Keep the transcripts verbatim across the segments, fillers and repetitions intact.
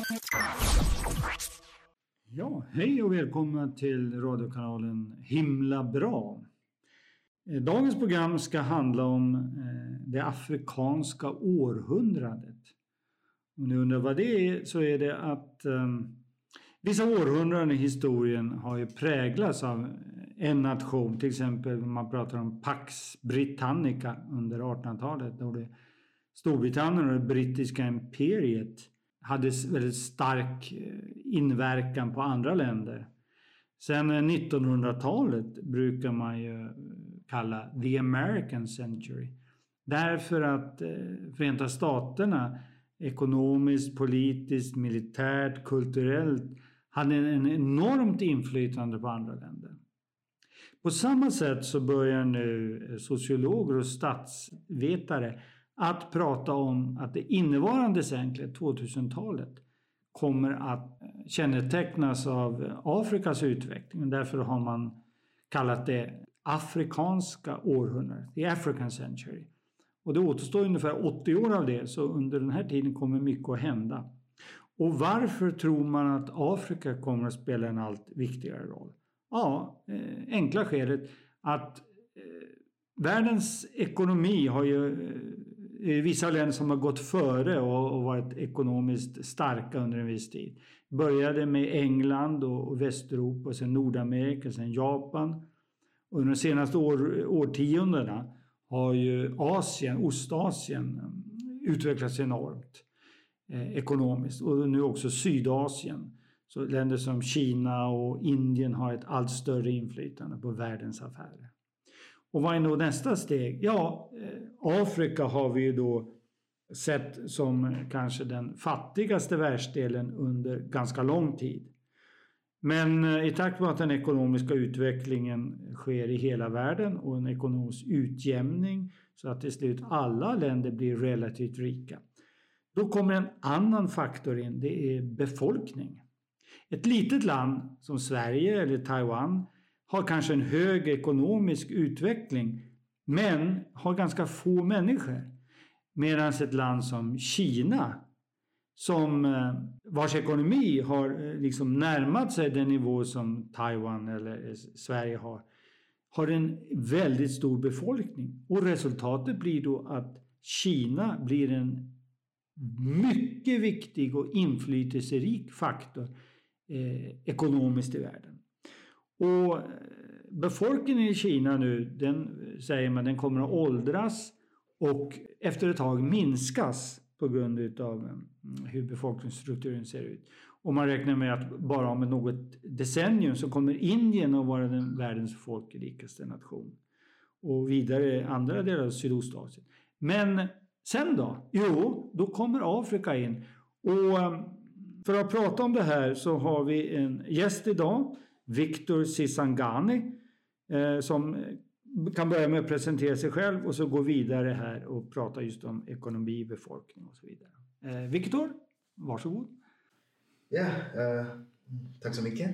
Ja, hej och välkomna till radiokanalen Himla bra. Dagens program ska handla om det afrikanska århundradet. Om ni undrar vad det är, så är det att um, vissa århundraden i historien har ju präglats av en nation. Till exempel man pratar om Pax Britannica under artonhundratalet, då det Storbritannien och det brittiska imperiet hade väldigt stark inverkan på andra länder. Sen nittonhundratalet brukar man ju kalla the American century. Därför att Förenta Staterna ekonomiskt, politiskt, militärt, kulturellt hade en enormt inflytande på andra länder. På samma sätt så börjar nu sociologer och statsvetare att prata om att det innevarande seklet, tvåtusentalet, kommer att kännetecknas av Afrikas utveckling. Därför har man kallat det afrikanska århundradet, the African century. Och det återstår ungefär åttio år av det, så under den här tiden kommer mycket att hända. Och varför tror man att Afrika kommer att spela en allt viktigare roll? Ja, enkla skälet att världens ekonomi har ju vissa länder som har gått före och varit ekonomiskt starka under en viss tid. Började med England och Västeuropa, och sen Nordamerika, sen Japan. Och under de senaste år, årtiondena har ju Asien, Ostasien, utvecklats enormt eh, ekonomiskt. Och nu också Sydasien. Så länder som Kina och Indien har ett allt större inflytande på världens affärer. Och vad är då nästa steg? Ja, Afrika har vi ju då sett som kanske den fattigaste världsdelen under ganska lång tid. Men i takt med att den ekonomiska utvecklingen sker i hela världen och en ekonomisk utjämning så att till slut alla länder blir relativt rika, då kommer en annan faktor in, det är befolkning. Ett litet land som Sverige eller Taiwan har kanske en hög ekonomisk utveckling men har ganska få människor. Medan ett land som Kina, som vars ekonomi har liksom närmat sig den nivå som Taiwan eller Sverige har, har en väldigt stor befolkning. Och resultatet blir då att Kina blir en mycket viktig och inflytelserik faktor eh, ekonomiskt i världen. Och befolkningen i Kina nu, den säger man, den kommer att åldras och efter ett tag minskas på grund av hur befolkningsstrukturen ser ut. Och man räknar med att bara om något decennium så kommer Indien att vara den världens folkrikaste nation. Och vidare andra delar av Sydostasien. Men sen då? Jo, då kommer Afrika in. Och för att prata om det här så har vi en gäst idag, Victor Sisangani, eh, som kan börja med att presentera sig själv och så gå vidare här och prata just om ekonomi, befolkning och så vidare. Eh, Victor, varsågod. Ja, uh, tack så mycket.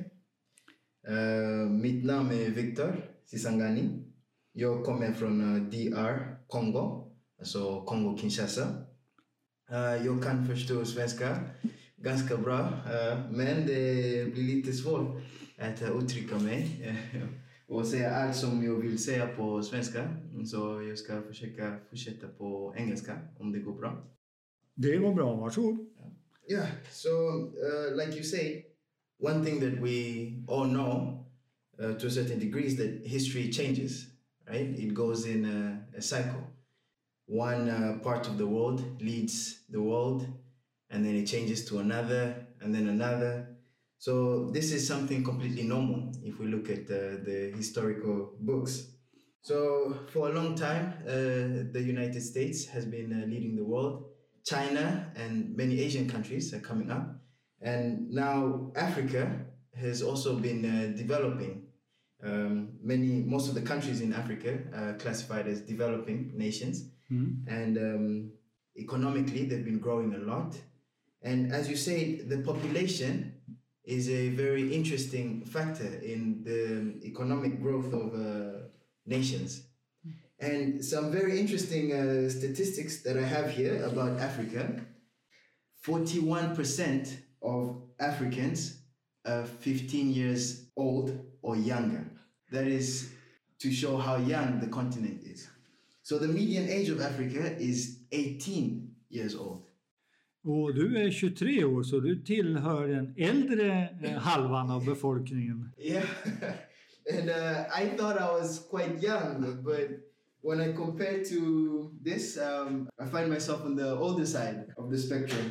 Uh, mitt namn är Victor Sisangani. Jag kommer från uh, D R, Kongo, alltså Kongo-Kinshasa. Uh, jag kan förstå svenska ganska bra, uh, men det blir lite svårt att uttrycka mig och säga allt som jag vill säga på svenska. Så jag ska försöka fortsätta på engelska om det går bra. Det går bra, varsågod. Yeah, so uh, like you say, one thing that we all know uh, to a certain degree is that history changes, right? It goes in a, a cycle. One uh, part of the world leads the world, and then it changes to another, and then another. So this is something completely normal if we look at uh, the historical books. So for a long time, uh, the United States has been uh, leading the world. China and many Asian countries are coming up. And now Africa has also been uh, developing. Um, many, most of the countries in Africa are classified as developing nations. Mm-hmm. And um, economically, they've been growing a lot. And as you say, the population is a very interesting factor in the economic growth of uh, nations. And some very interesting uh, statistics that I have here about Africa. forty-one percent of Africans are fifteen years old or younger. That is to show how young the continent is. So the median age of Africa is eighteen years old. Och du är tjugotre år, så du tillhör den äldre eh, halvan av befolkningen. Yeah, and uh, I thought I was quite young, but when I compare to this, um, I find myself on the older side of the spectrum.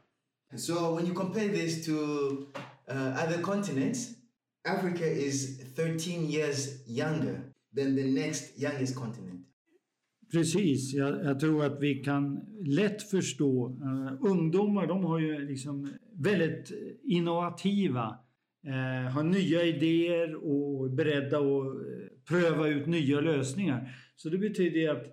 So when you compare this to uh, other continents, Africa is thirteen years younger than the next youngest continent. Precis, jag, jag tror att vi kan lätt förstå. Uh, ungdomar, de har ju liksom väldigt innovativa, uh, har nya idéer och är beredda att uh, pröva ut nya lösningar. Så det betyder att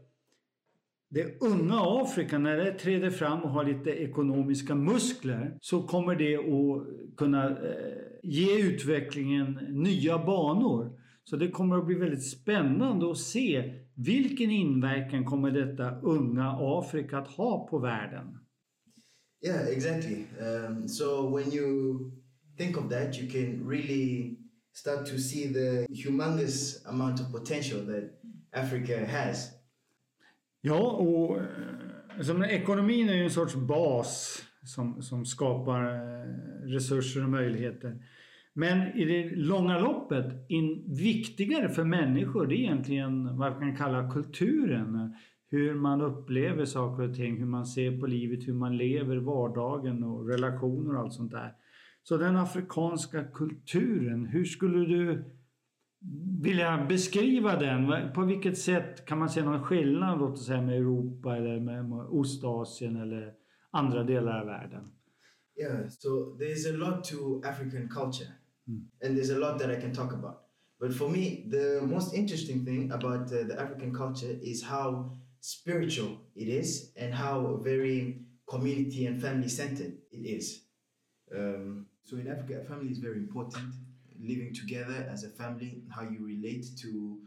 det unga Afrika, när det träder fram och har lite ekonomiska muskler, så kommer det att kunna uh, ge utvecklingen nya banor. Så det kommer att bli väldigt spännande att se vilken inverkan kommer detta unga Afrika att ha på världen. Yeah, exactly. Um, so when you think of that, you can really start to see the humongous amount of potential that Africa has. Ja, och som ekonomin är ju en sorts bas som, som skapar resurser och möjligheter. Men i det långa loppet, in, viktigare för människor, det är egentligen vad man kan kalla kulturen. Hur man upplever saker och ting, hur man ser på livet, hur man lever vardagen och relationer och allt sånt där. Så den afrikanska kulturen, hur skulle du vilja beskriva den? På vilket sätt kan man se någon skillnad, låt oss säga, med Europa eller med Ostasien eller andra delar av världen? Yeah, so there's a lot to African culture. Mm. And there's a lot that I can talk about. But for me, the most interesting thing about uh, the African culture is how spiritual it is and how very community and family-centered it is. Um, so in Africa, family is very important. Living together as a family, how you relate to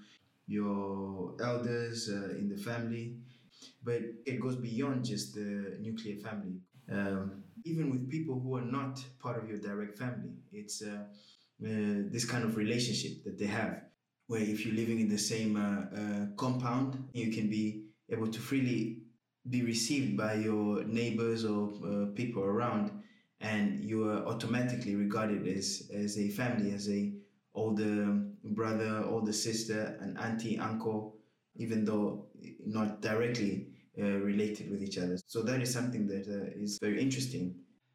your elders uh, in the family. But it goes beyond just the nuclear family. Um, even with people who are not part of your direct family, it's uh, uh, this kind of relationship that they have, where if you're living in the same uh, uh, compound, you can be able to freely be received by your neighbors or uh, people around, and you are automatically regarded as, as a family, as a older brother, older sister, an auntie, uncle, even though not directly Uh, related with each other. So that is something that uh, is very interesting.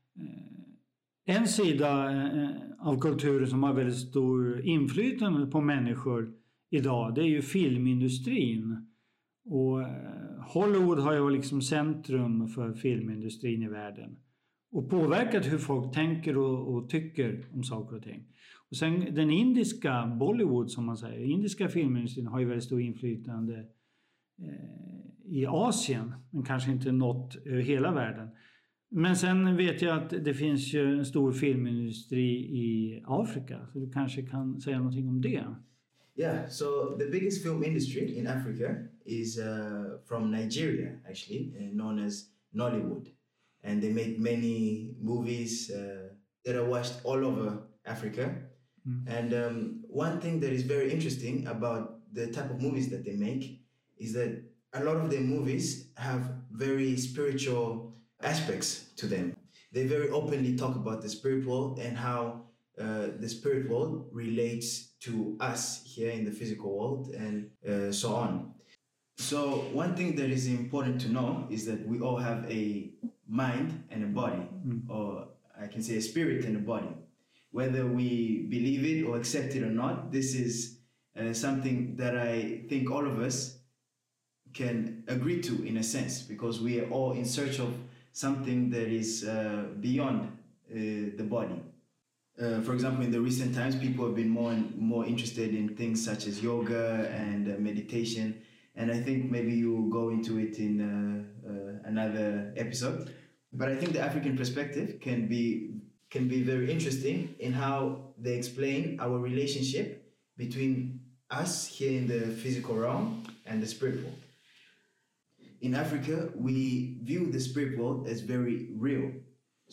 En sida uh, av kulturen som har väldigt stor inflytande på människor idag, det är ju filmindustrin. Och uh, Hollywood har ju liksom centrum för filmindustrin i världen. Och påverkat hur folk tänker och, och tycker om saker och ting. Och sen den indiska Bollywood, som man säger, indiska filmindustrin har ju väldigt stor inflytande uh, i Asien, men kanske inte nått över hela världen. Men sen vet jag att det finns ju en stor filmindustri i Afrika, så du kanske kan säga någonting om det. Yeah, so the biggest film industry in Africa is uh, from Nigeria, actually, uh, known as Nollywood. And they make many movies uh, that are watched all over Africa. Mm. And um, one thing that is very interesting about the type of movies that they make is that a lot of their movies have very spiritual aspects to them. They very openly talk about the spirit world and how uh, the spirit world relates to us here in the physical world and uh, so on. So one thing that is important to know is that we all have a mind and a body, mm. or I can say a spirit and a body. Whether we believe it or accept it or not, this is uh, something that I think all of us can agree to in a sense, because we are all in search of something that is uh, beyond uh, the body. Uh, for example, in the recent times, people have been more and more interested in things such as yoga and uh, meditation, and I think maybe you go into it in uh, uh, another episode. But I think the African perspective can be can be very interesting in how they explain our relationship between us here in the physical realm and the spirit world. In Africa, we view the spirit world as very real.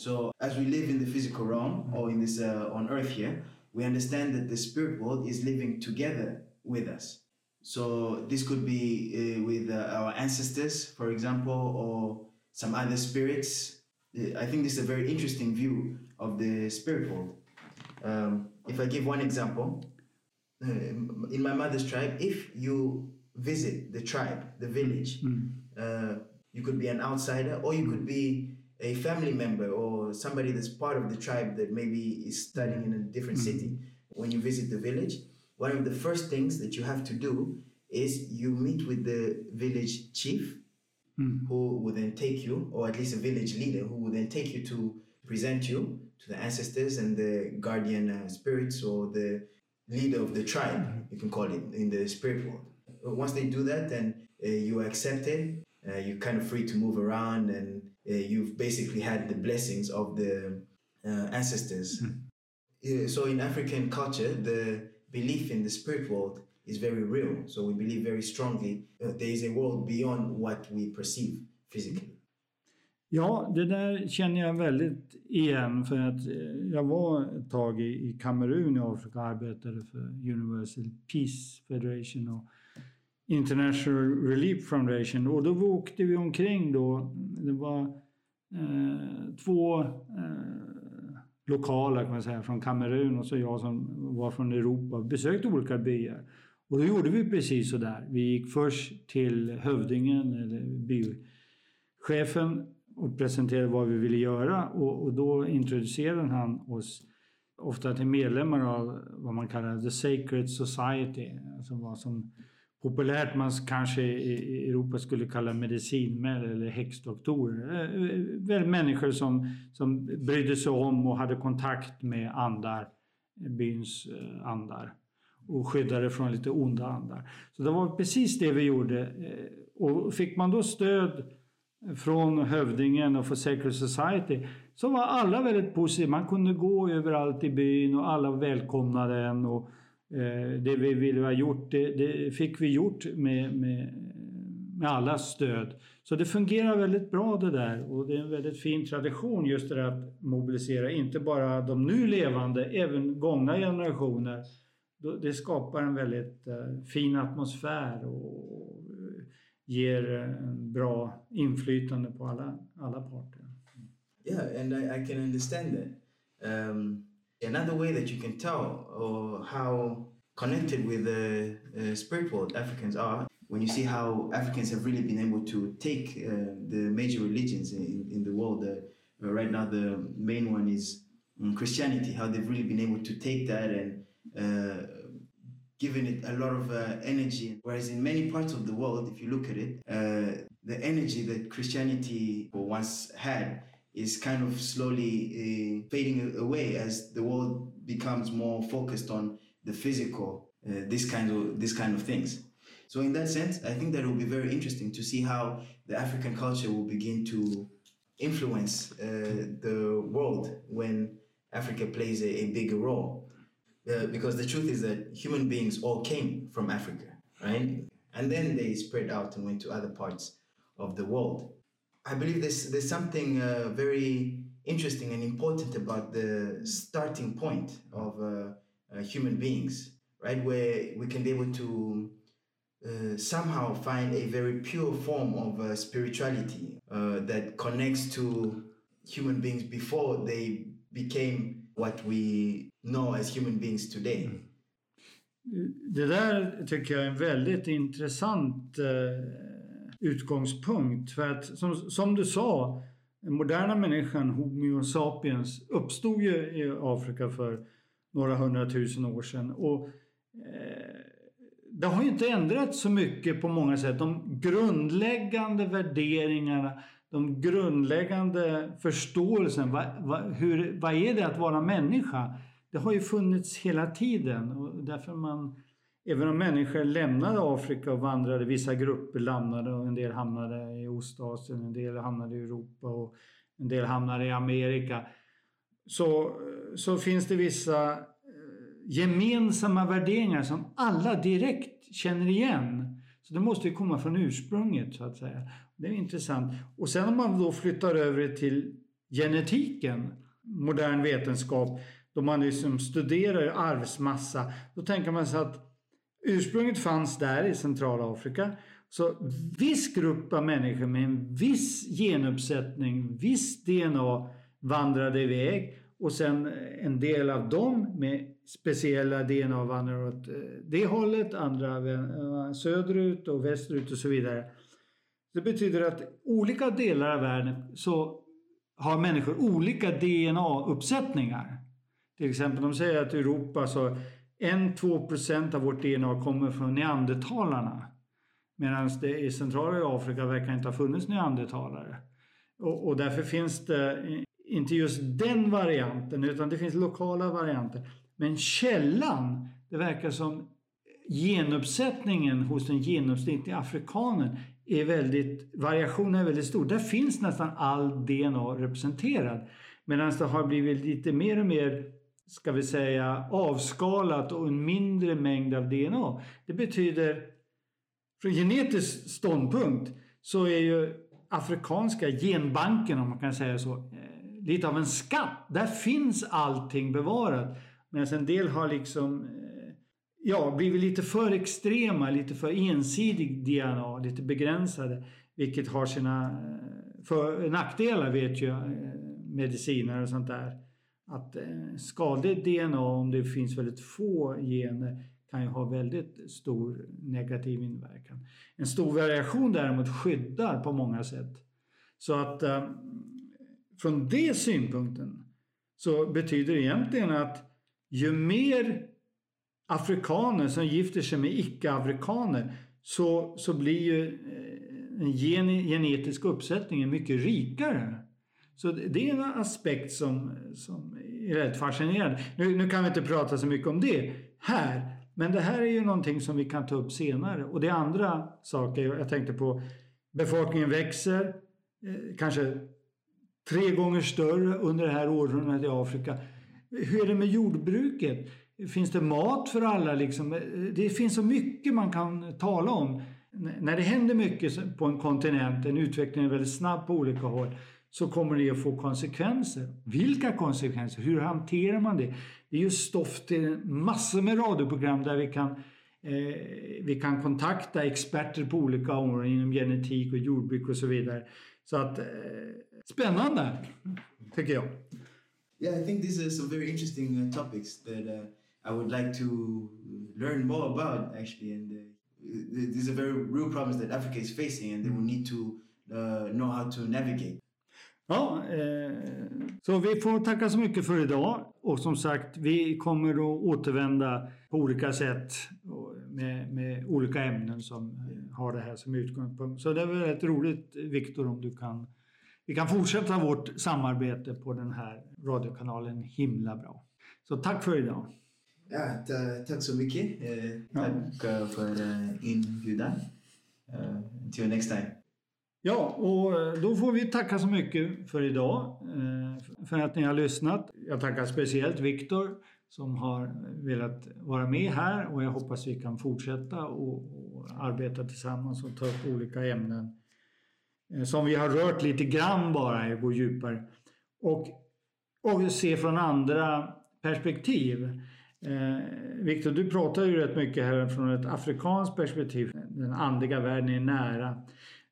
So as we live in the physical realm or in this uh, on earth here, we understand that the spirit world is living together with us. So this could be uh, with uh, our ancestors, for example, or some other spirits. I think this is a very interesting view of the spirit world. Um, if I give one example, uh, in my mother's tribe, if you visit the tribe, the village, mm. uh, you could be an outsider, or you could be a family member or somebody that's part of the tribe that maybe is studying in a different mm. city. When you visit the village, one of the first things that you have to do is you meet with the village chief, mm. who will then take you, or at least a village leader, who will then take you to present you to the ancestors and the guardian uh, spirits, or the leader of the tribe, you can call it, in the spirit world. Once they do that, then uh, you are accepted, uh, you're kind of free to move around, and uh, you've basically had the blessings of the uh, ancestors. Mm. Uh, so in African culture, the belief in the spirit world is very real. So we believe very strongly uh, there is a world beyond what we perceive physically. Ja, det där känner jag väldigt igen, för att jag var ett tag i, i Kamerun i Afrika och arbetade för Universal Peace Federation och International Relief Foundation, och då åkte vi omkring då. Det var eh, två eh, lokala, kan man säga, från Kamerun, och så jag som var från Europa, besökte olika byar. Och då gjorde vi precis så där. Vi gick först till hövdingen eller bychefen och presenterade vad vi ville göra, och, och då introducerade han oss ofta till medlemmar av vad man kallar The Sacred Society, alltså vad som populärt man kanske i Europa skulle kalla medicinmän eller häxdoktorer. Väl människor som, som brydde sig om och hade kontakt med andar, byns andar, och skyddade från lite onda andar. Så det var precis det vi gjorde. Och fick man då stöd från hövdingen och för Sacred Society, så var alla väldigt positiva. Man kunde gå överallt i byn och alla välkomnade en, och eh, det vi ville ha gjort, det, det fick vi gjort med, med, med allas stöd. Så det fungerar väldigt bra det där, och det är en väldigt fin tradition just det att mobilisera inte bara de nu levande, även gångna generationer. Det skapar en väldigt uh, fin atmosfär och ger en bra inflytande på alla, alla parter. Yeah, and I, I can understand that. Um, another way that you can tell or how connected with the uh, spirit world Africans are, when you see how Africans have really been able to take uh, the major religions in, in the world. Uh, right now the main one is um, Christianity, how they've really been able to take that and Uh, giving it a lot of uh, energy, whereas in many parts of the world, if you look at it, uh, the energy that Christianity once had is kind of slowly uh, fading away as the world becomes more focused on the physical, uh, this kind of this kind of things. So in that sense, I think that it will be very interesting to see how the African culture will begin to influence uh, the world when Africa plays a, a bigger role. Uh, because the truth is that human beings all came from Africa, right? And then they spread out and went to other parts of the world. I believe there's, there's something uh, very interesting and important about the starting point of uh, uh, human beings, right? Where we can be able to uh, somehow find a very pure form of uh, spirituality uh, that connects to human beings before they became what we know as human beings today. Det där tycker jag är en väldigt intressant eh, utgångspunkt, för att som, som du sa, den moderna människan, Homo sapiens, uppstod ju i Afrika för några hundratusen år sedan, och eh, det har ju inte ändrats så mycket på många sätt. De grundläggande värderingarna, de grundläggande förståelsen, vad, vad, hur, vad är det att vara människa? Det har ju funnits hela tiden, och därför man, även om människor lämnade Afrika och vandrade, vissa grupper lämnade, och en del hamnade i Ostasien, en del hamnade i Europa och en del hamnade i Amerika, så, så finns det vissa gemensamma värderingar som alla direkt känner igen. Så det måste ju komma från ursprunget, så att säga. Det är intressant. Och sen om man då flyttar över till genetiken, modern vetenskap, då man liksom studerar arvsmassa, då tänker man sig att ursprunget fanns där i Centralafrika. Så viss grupp av människor med en viss genuppsättning, viss D N A vandrade iväg, och sen en del av dem med speciella D N A vandrar åt det hållet, andra söderut och västerut och så vidare. Det betyder att olika delar av världen så har människor olika D N A-uppsättningar. Till exempel de säger att i Europa så en till två procent av vårt D N A kommer från neandertalarna. Medan det i centrala Afrika verkar inte ha funnits neandertalare. Och, och därför finns det inte just den varianten, utan det finns lokala varianter. Men källan, det verkar som genuppsättningen hos den genomsnittliga afrikanen är väldigt, variationen är väldigt stor. Där finns nästan all D N A representerad. Medan det har blivit lite mer och mer, ska vi säga, avskalat och en mindre mängd av D N A. Det betyder, från genetisk ståndpunkt så är ju afrikanska genbanken, om man kan säga så, lite av en skatt. Där finns allting bevarat. Medan en del har liksom ja, blivit lite för extrema, lite för ensidig D N A, lite begränsade. Vilket har sina för, nackdelar, vet ju mediciner och sånt där. Att skadligt D N A, om det finns väldigt få gener, kan ju ha väldigt stor negativ inverkan. En stor variation däremot skyddar på många sätt. Så att eh, från det synpunkten så betyder det egentligen att ju mer afrikaner som gifter sig med icke-afrikaner så, så blir ju en gen, genetisk uppsättning mycket rikare. Så det är en aspekt som, som är rätt fascinerande. Nu, nu kan vi inte prata så mycket om det här. Men det här är ju någonting som vi kan ta upp senare. Och det är andra saker. Jag tänkte på, befolkningen växer. Eh, kanske tre gånger större under det här århundradet i Afrika. Hur är det med jordbruket? Finns det mat för alla? Liksom? Det finns så mycket man kan tala om. N- när det händer mycket på en kontinent, en utveckling är väldigt snabb på olika håll, så kommer det att få konsekvenser. Vilka konsekvenser? Hur hanterar man det? Det är ju stoff till massor med radioprogram där vi kan, eh, vi kan kontakta experter på olika områden inom genetik och jordbruk och så vidare. Så att, eh, spännande, tycker jag. Yeah, I think these are some very interesting uh, topics that uh, I would like to learn more about, actually. And uh, these are very real problems that Africa is facing, and they will need to uh, know how to navigate. Ja, eh, så vi får tacka så mycket för idag. Och som sagt, vi kommer att återvända på olika sätt med, med olika ämnen som har det här som utgångspunkt. Så det är väldigt roligt, Viktor, om du kan... Vi kan fortsätta vårt samarbete på den här radiokanalen himla bra. Så tack för idag. Ja, t- tack så mycket. Uh, ja. Tack för uh, inbjudan. Uh, until next time. Ja, och då får vi tacka så mycket för idag, för att ni har lyssnat. Jag tackar speciellt Viktor som har velat vara med här, och jag hoppas vi kan fortsätta och, och arbeta tillsammans och ta upp olika ämnen som vi har rört lite grann bara, gå djupare och, och se från andra perspektiv. Eh, Viktor, du pratar ju rätt mycket här från ett afrikanskt perspektiv. Den andliga världen är nära.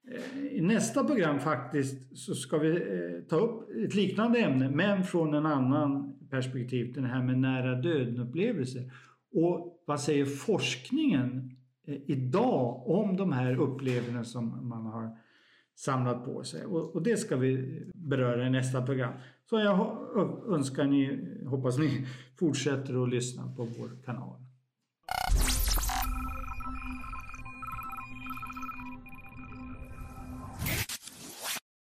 I nästa program faktiskt så ska vi eh, ta upp ett liknande ämne, men från en annan perspektiv, den här med nära döden-upplevelser. Och vad säger forskningen eh, idag om de här upplevelserna som man har samlat på sig? Och, och det ska vi beröra i nästa program. Så jag önskar ni, hoppas ni fortsätter att lyssna på vår kanal.